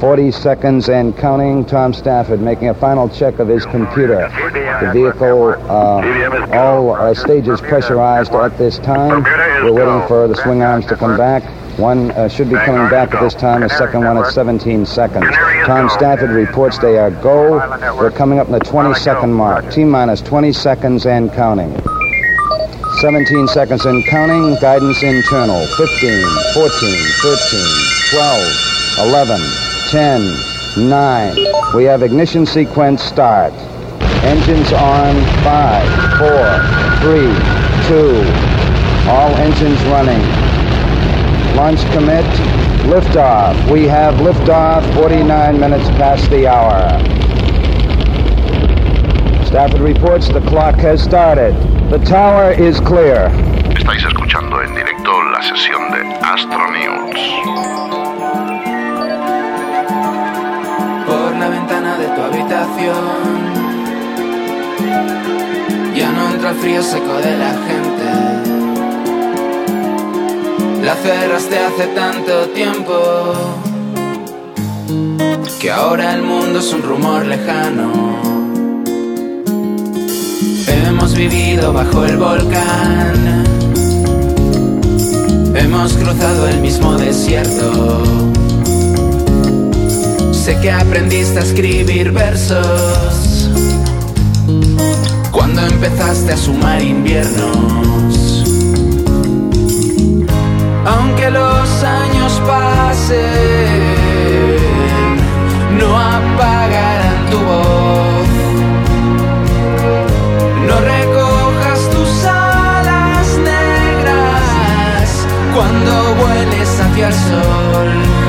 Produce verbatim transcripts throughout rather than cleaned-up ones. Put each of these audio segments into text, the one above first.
forty seconds and counting. Tom Stafford making a final check of his computer. The vehicle, uh, all uh, stages pressurized at this time. We're waiting for the swing arms to come back. One uh, should be coming back at this time, the second one at seventeen seconds. Tom Stafford reports they are go. We're coming up in the twenty second mark. T-minus twenty seconds and counting. seventeen seconds and counting. Guidance internal. fifteen, fourteen, thirteen, twelve, eleven, ten, nine. We have ignition sequence start. Engines on. five, four, three, two. All engines running. Launch commit, liftoff. We have liftoff, forty-nine minutes past the hour. Stafford reports the clock has started. The tower is clear. Estáis escuchando en directo la sesión de Astro News. Por la ventana de tu habitación ya no entra el frío seco de la gente. La cerraste hace tanto tiempo que ahora el mundo es un rumor lejano. Hemos vivido bajo el volcán, hemos cruzado el mismo desierto. Sé que aprendiste a escribir versos cuando empezaste a sumar inviernos. Aunque los años pasen, no apagarán tu voz. No recojas tus alas negras cuando vueles hacia el sol.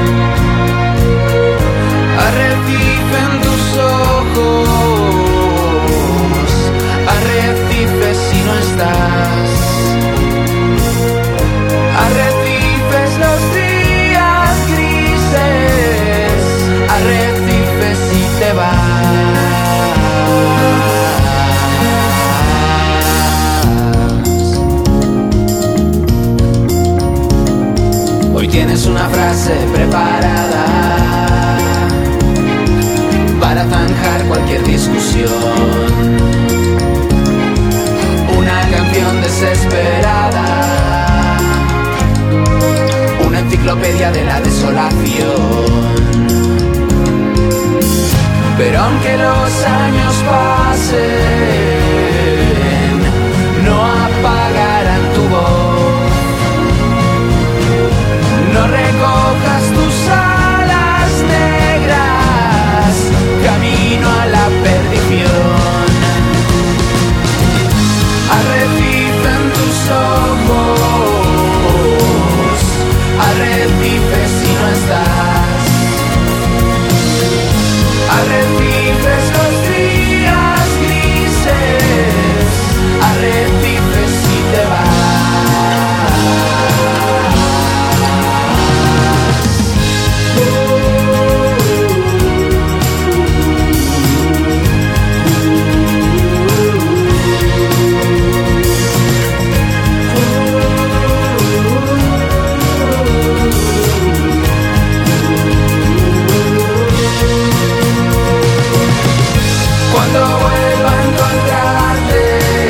Arrecife en tus ojos, arrecife si no estás. Arrecifes los días grises, arrecifes si te vas. Hoy tienes una frase preparada para zanjar cualquier discusión. Una canción desesperada, una enciclopedia de la desolación. Pero aunque los años pasen, no apagarán tu voz. No recojas tus alas negras, camino a la perdición. Arrecife en tus ojos, arrecifes si no estás. Arrecifes los días grises, arrecifes si te vas. Cuando vuelva a encontrarte,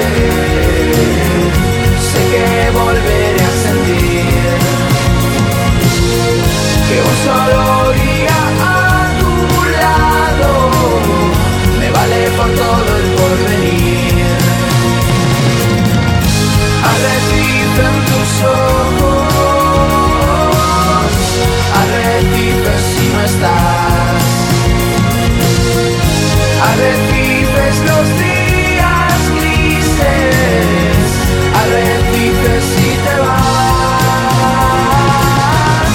sé que volveré a sentir que un solo día a tu lado me vale por todo el porvenir. Arrecife en tus ojos, arrecife si no estás. Arrecifes los días grises, arrecifes si te vas.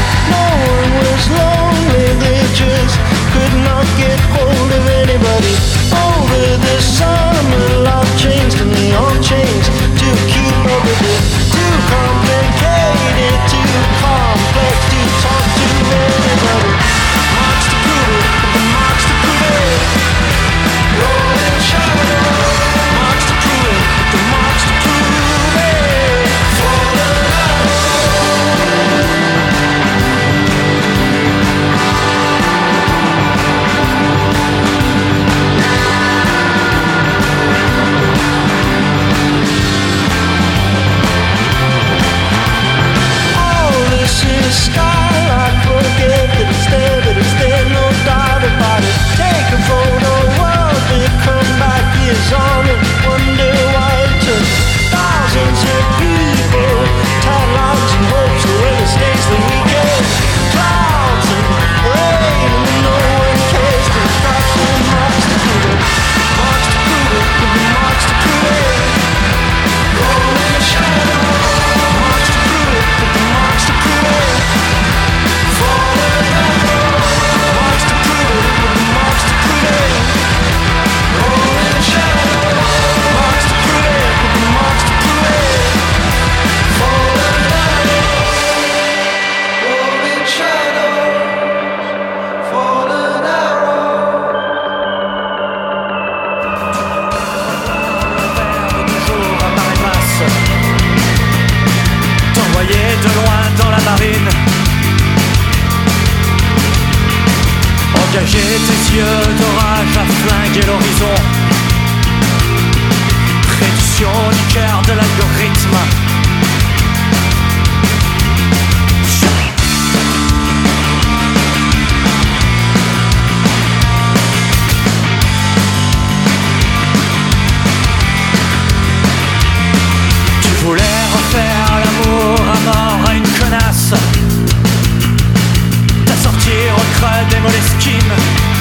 No one was lonely, they just could not get hold of anybody. Over the summer, love changed and they all changed to keep up with it. Too complicated, too complex to talk to anybody. Marks to prove it, the marks to prove it. Rolling shadow. Marks to prove it, the marks to prove it. Falling out. Skylight, forget that it's there, but it's there, no doubt about it. Take a photo, world will come back years on and wonder why it took thousands of people, tied lives and hopes for the mistakes that we get. Clouds and rain and no one cares. There's got the marks to prove it, marks to prove it, the marks to prove it. Rolling shadow, marks to prove it, the marks to prove it. De loin dans la marine, engager tes yeux d'orage à flinguer l'horizon. Prédiction du cœur de l'algorithme. Tu voulais refaire l'amour à mort à une connasse, t'assortir au creux des Moleskine,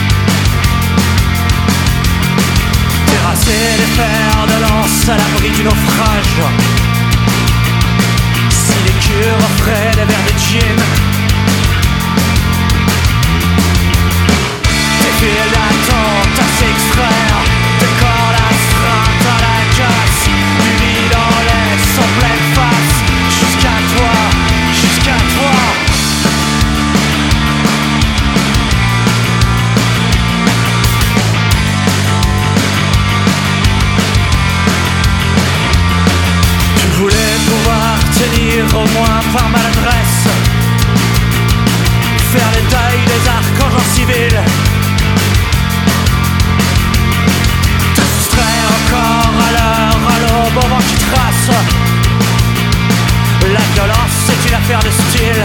terrasser les fers de lance à l'abri du naufrage. Si les cures offraient des verres de gin, tes fils d'attente à s'extraire, tes cordes astreintes à la casse, du vide en laisse en pleine face. Jusqu'à toi, jusqu'à toi. Tu voulais pouvoir tenir au moins par maladresse, faire les tailles des archanges en civil, te soustraire encore à l'heure, à l'aube, au vent qui trace. La violence c'est une affaire de style.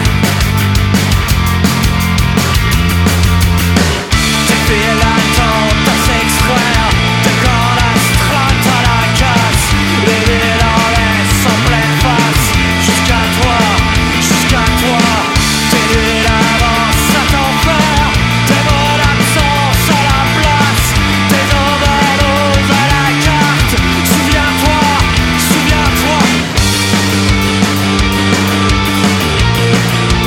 Tes filles l'attendent à s'extraire, tes cordes astreintes à la casse, les villes en laisse en pleine face. Jusqu'à toi, jusqu'à toi, tes nuits d'avance à t'enfer, tes mots d'absence à la place, tes overdoses à la carte. Souviens-toi, souviens-toi.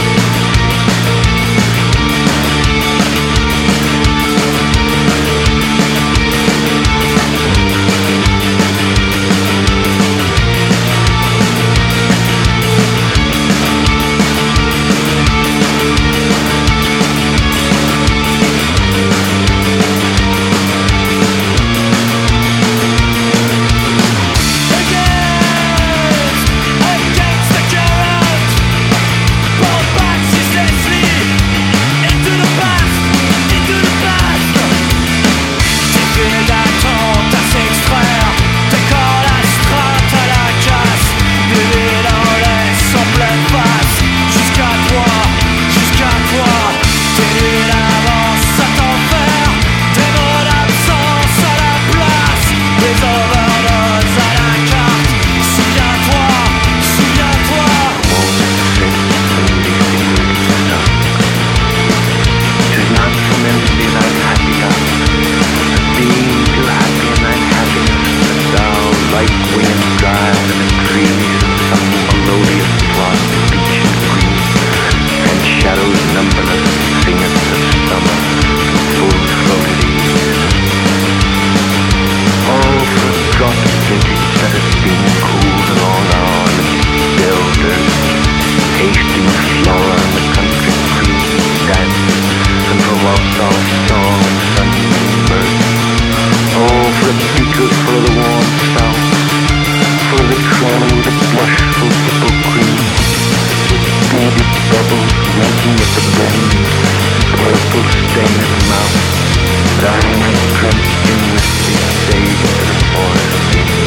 on this mountain, but I am drenched in whiskey, sage to the forest.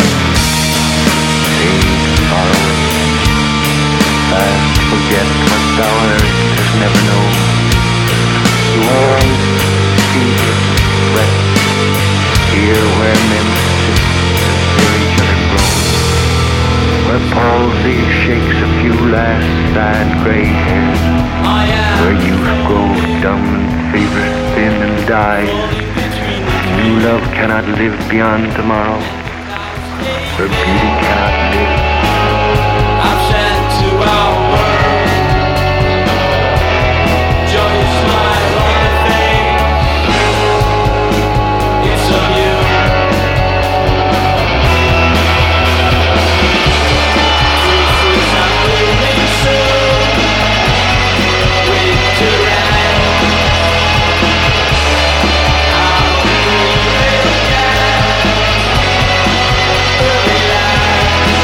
Sage sorrow, fast forget what thou hast never known. You always ceaseless sweat, here where men sit and hear each other groan, where palsy shakes a few last sad gray hairs, where youth grows dumb and favors thin and dies. New love cannot live beyond tomorrow, where beauty cannot live. I've shed to our world. Joy smile on your face. It's on you. Truth is not blooming soon. Wait to rise. I'll be right back. Early light.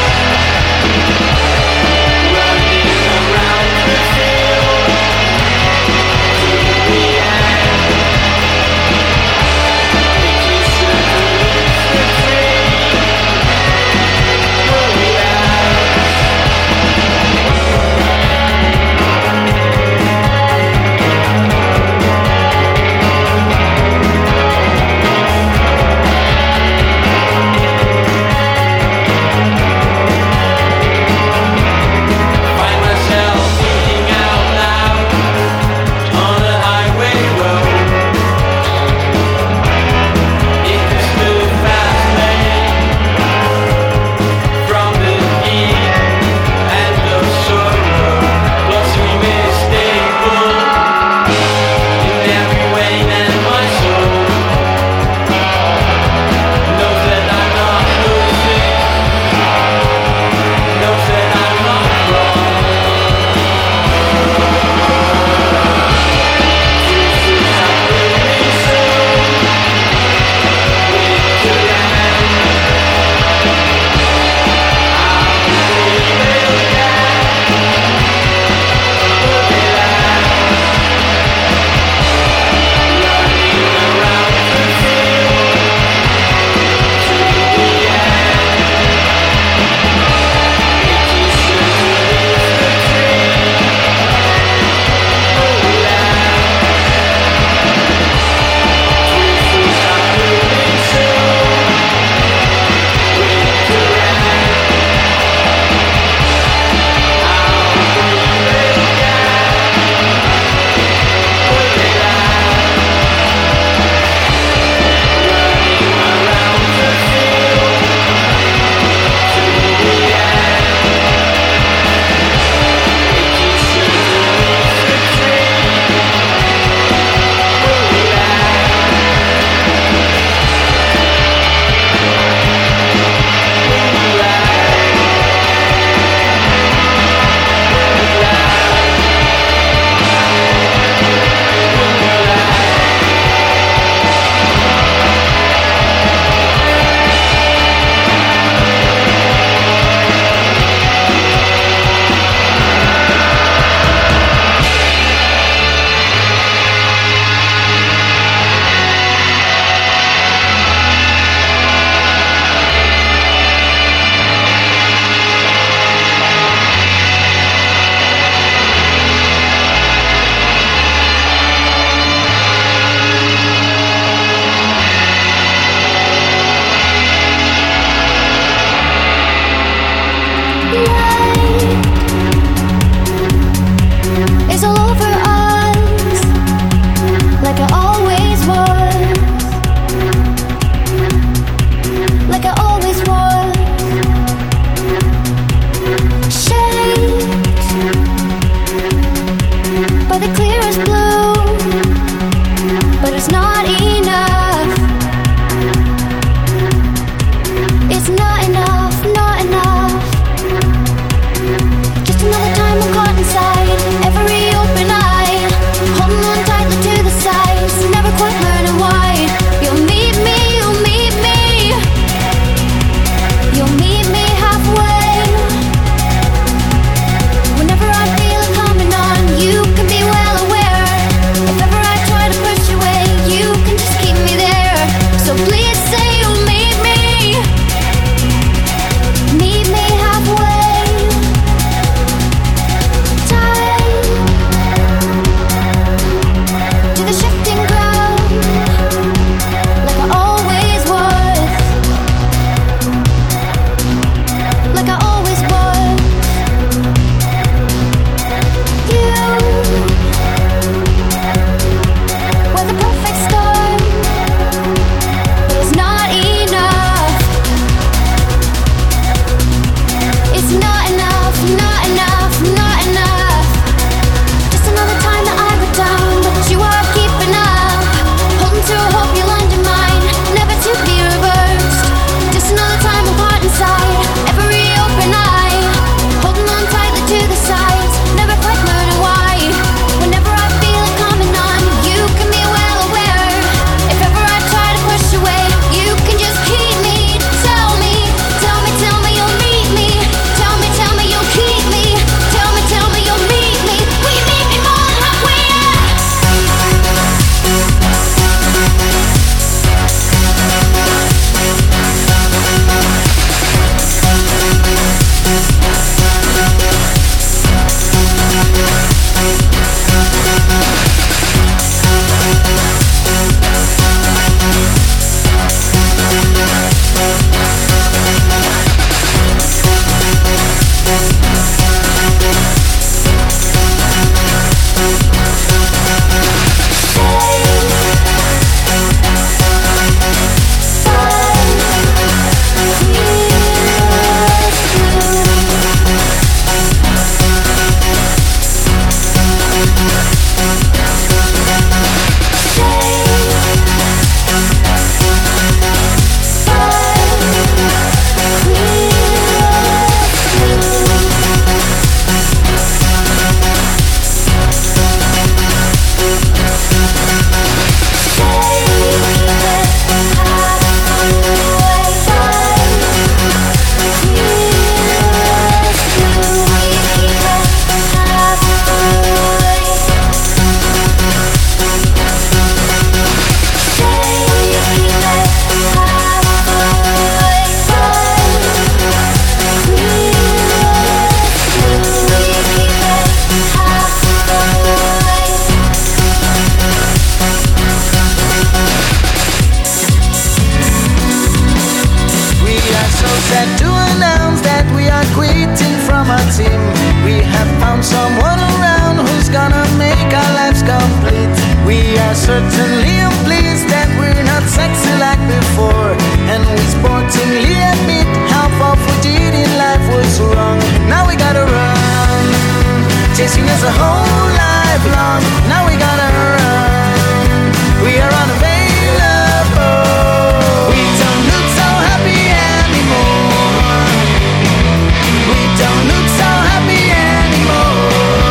are certainly unpleased that we're not sexy like before. And we sportingly admit half of what we did in life was wrong. Now we gotta run, chasing us a whole life long. Now we gotta run, we are unavailable. We don't look so happy anymore. We don't look so happy anymore.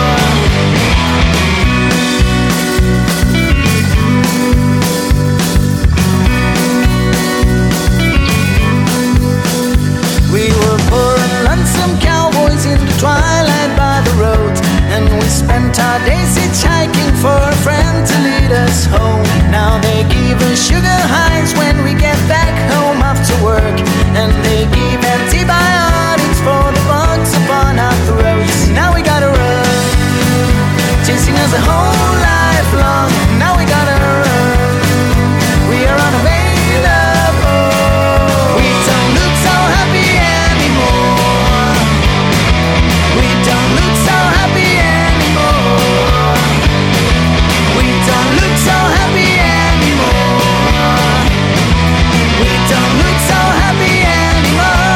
We were poor and lonesome cowboys in the twilight by the road, and we spent our days hitchhiking for a friend to lead us home. Now they give us sugar highs when we get back home after work, and they give antibiotics for the bugs upon our throats. Now we gotta run, chasing us a whole life long. Now we gotta run, we are unavailable. We don't look so happy anymore. We don't look so happy anymore. We don't look so happy anymore. We don't look so happy anymore.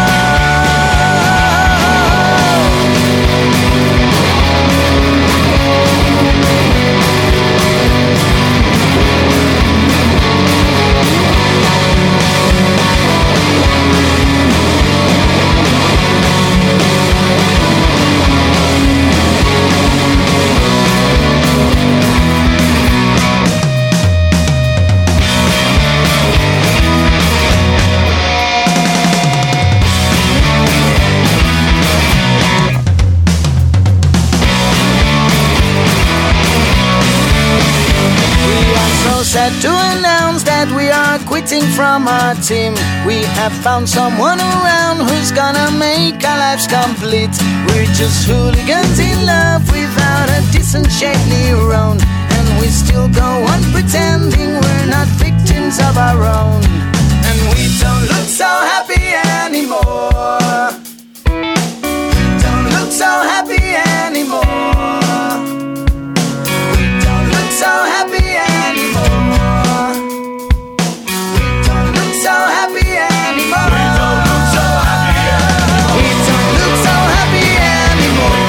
Sad to announce that we are quitting from our team. We have found someone around who's gonna make our lives complete. We're just hooligans in love without a decent shape neuron, and we still go on pretending we're not victims of our own. And we don't look so happy anymore. We don't look so happy anymore. We don't look so happy anymore. We don't look so happy anymore. We don't look so happy anymore. We don't look so happy anymore.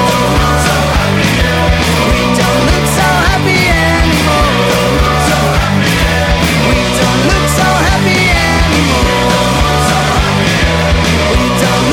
We don't look so happy anymore. We don't look so happy anymore. We don't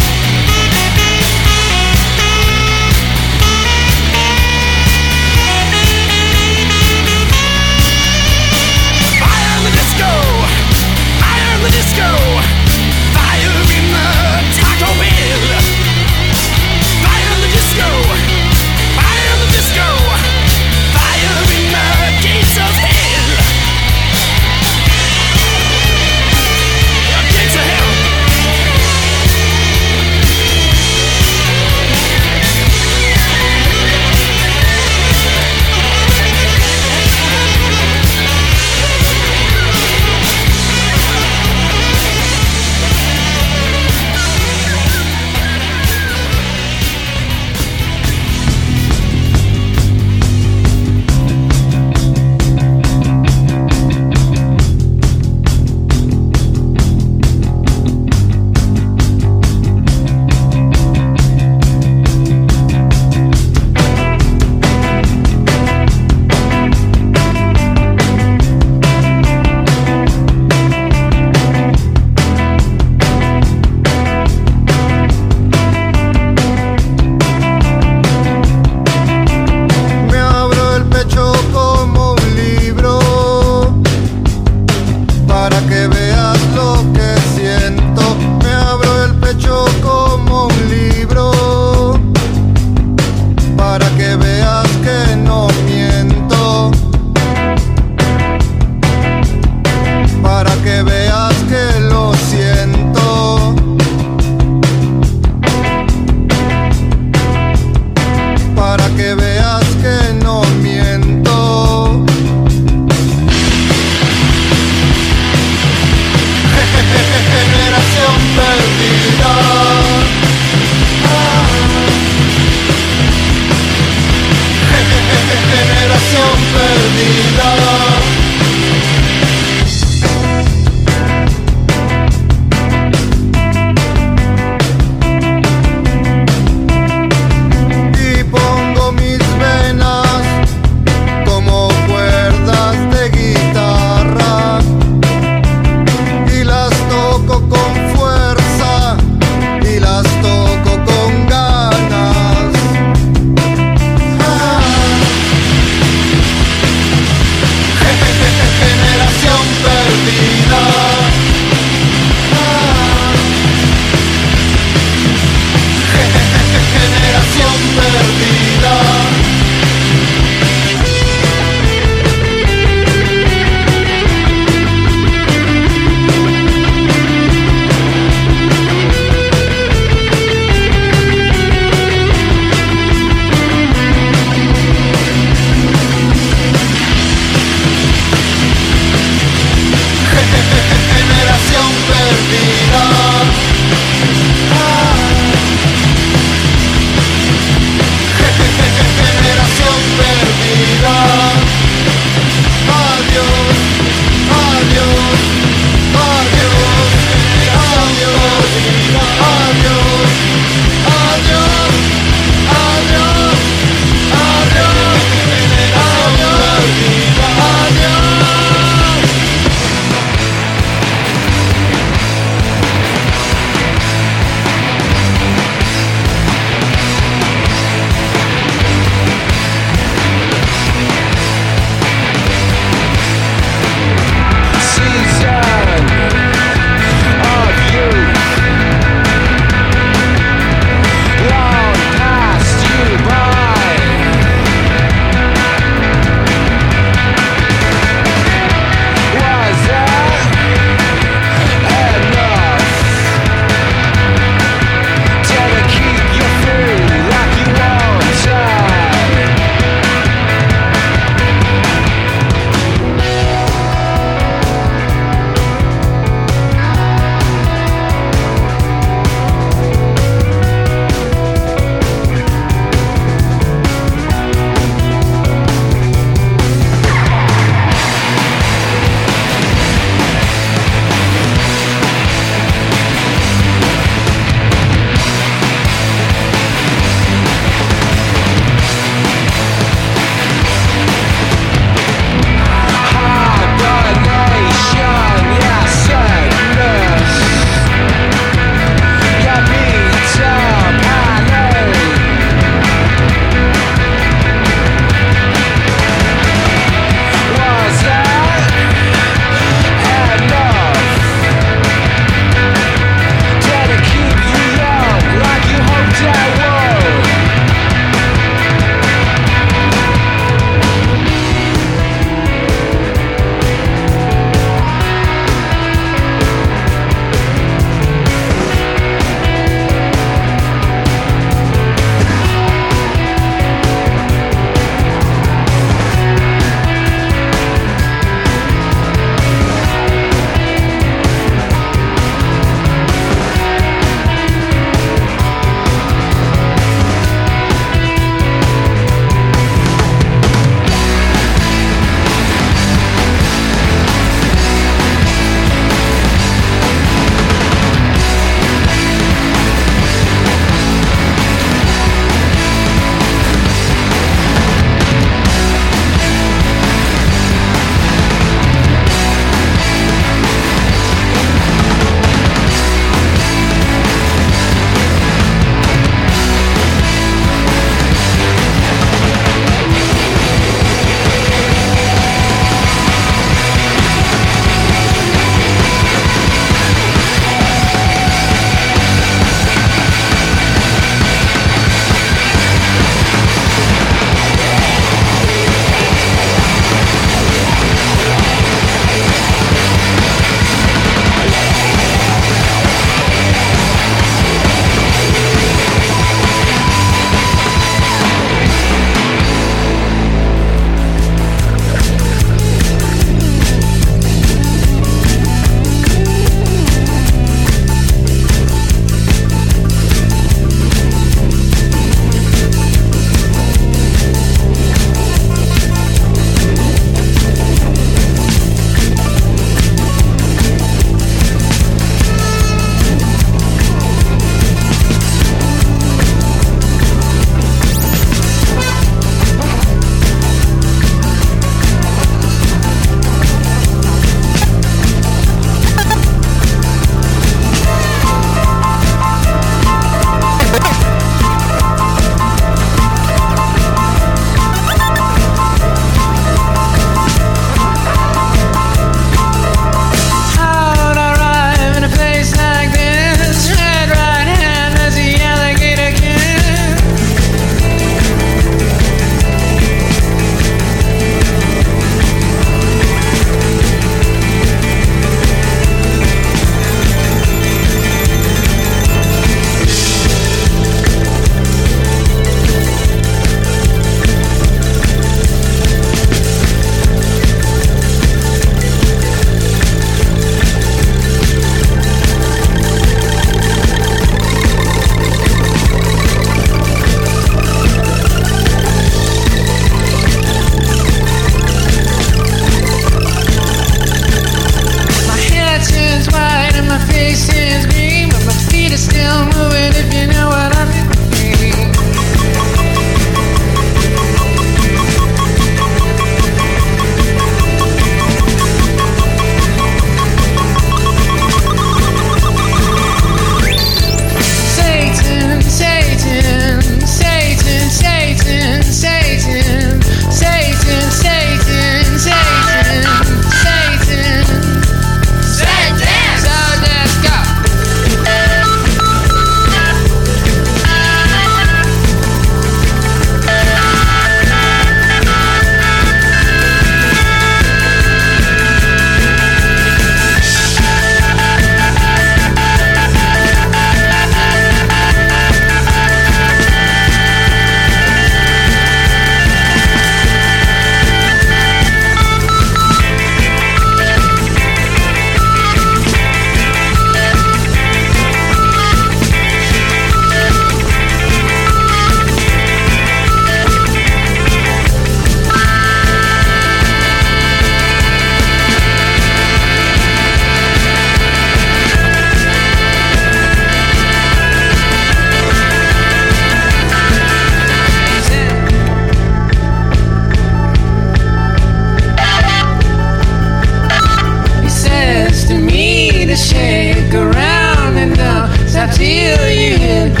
stick around and don't stop till you hit